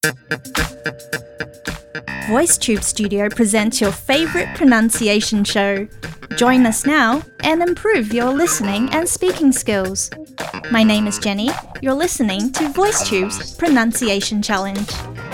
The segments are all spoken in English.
VoiceTube Studio presents your favorite pronunciation show. Join us now and improve your listening and speaking skills. My name is Jenny. You're listening to VoiceTube's Pronunciation Challenge.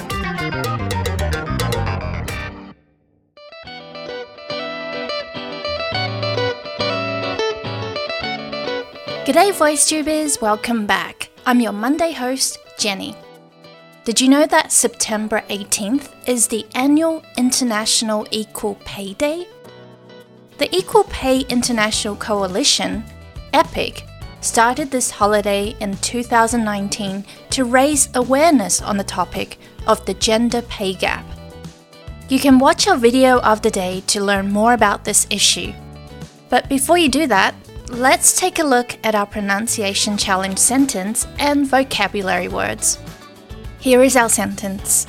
G'day VoiceTubers, welcome back. I'm your Monday host, Jenny. Did you know that September 18th is the annual International Equal Pay Day? The Equal Pay International Coalition, EPIC, started this holiday in 2019 to raise awareness on the topic of the gender pay gap. You can watch our video of the day to learn more about this issue. But before you do that, let's take a look at our pronunciation challenge sentence and vocabulary words. Here is our sentence.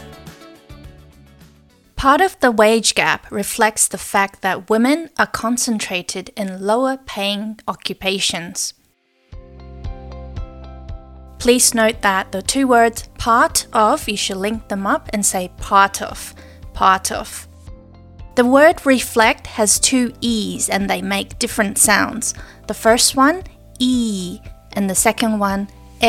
Part of the wage gap reflects the fact that women are concentrated in lower paying occupations. Please note that the two words part of, you should link them up and say part of, part of. The word reflect has two E's and they make different sounds. The first one, E, and the second one,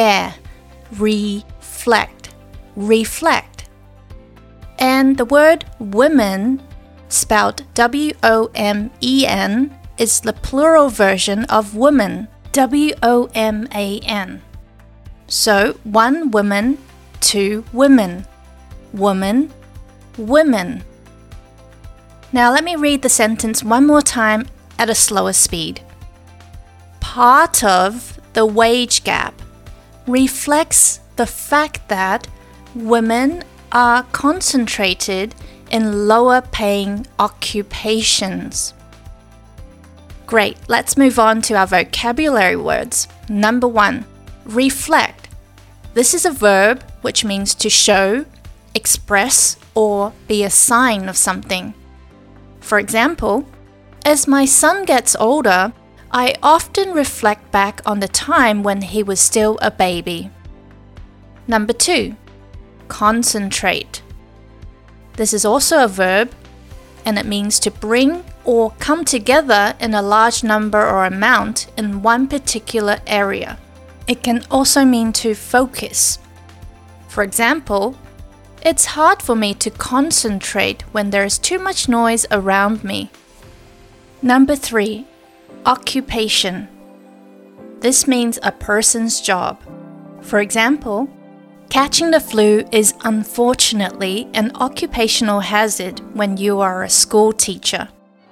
reflect, reflect. And the word women, spelled W-O-M-E-N, is the plural version of woman, W-O-M-A-N. So, one woman, two women, woman, women. Now let me read the sentence one more time at a slower speed. Part of the wage gap reflects the fact that women are concentrated in lower paying occupations. Great, let's move on to our vocabulary words. Number 1, reflect. This is a verb which means to show, express, or be a sign of something. For example, as my son gets older, I often reflect back on the time when he was still a baby. Number 2, concentrate. This is also a verb, and it means to bring or come together in a large number or amount in one particular area. It can also mean to focus. For example, it's hard for me to concentrate when there is too much noise around me. Number 3, occupation. This means a person's job. For example, catching the flu is unfortunately an occupational hazard when you are a school teacher.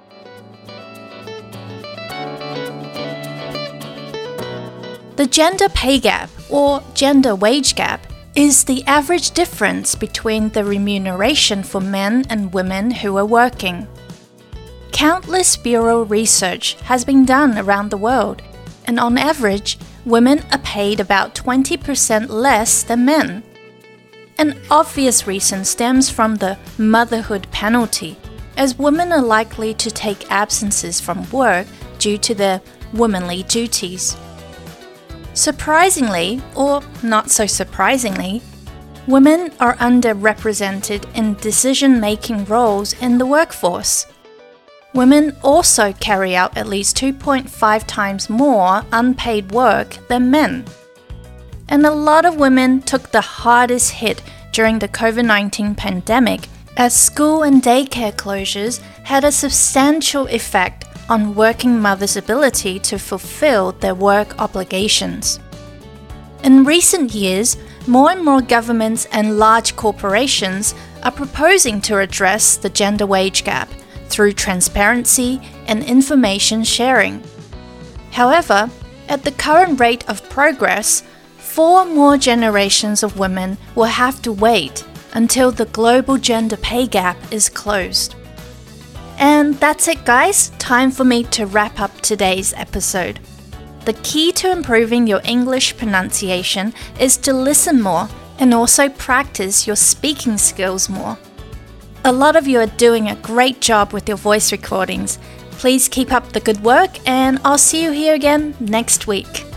The gender pay gap, or gender wage gap, is the average difference between the remuneration for men and women who are working. Countless bureau research has been done around the world, and on average, women are paid about 20% less than men. An obvious reason stems from the motherhood penalty, as women are likely to take absences from work due to their womanly duties. Surprisingly, or not so surprisingly, women are underrepresented in decision-making roles in the workforce. Women also carry out at least 2.5 times more unpaid work than men. And a lot of women took the hardest hit during the COVID-19 pandemic, as school and daycare closures had a substantial effect on working mothers' ability to fulfill their work obligations. In recent years, more and more governments and large corporations are proposing to address the gender wage gap through transparency and information sharing. However, at the current rate of progress, 4 more generations of women will have to wait until the global gender pay gap is closed. And that's it, guys. Time for me to wrap up today's episode. The key to improving your English pronunciation is to listen more and also practice your speaking skills more. A lot of you are doing a great job with your voice recordings. Please keep up the good work, and I'll see you here again next week.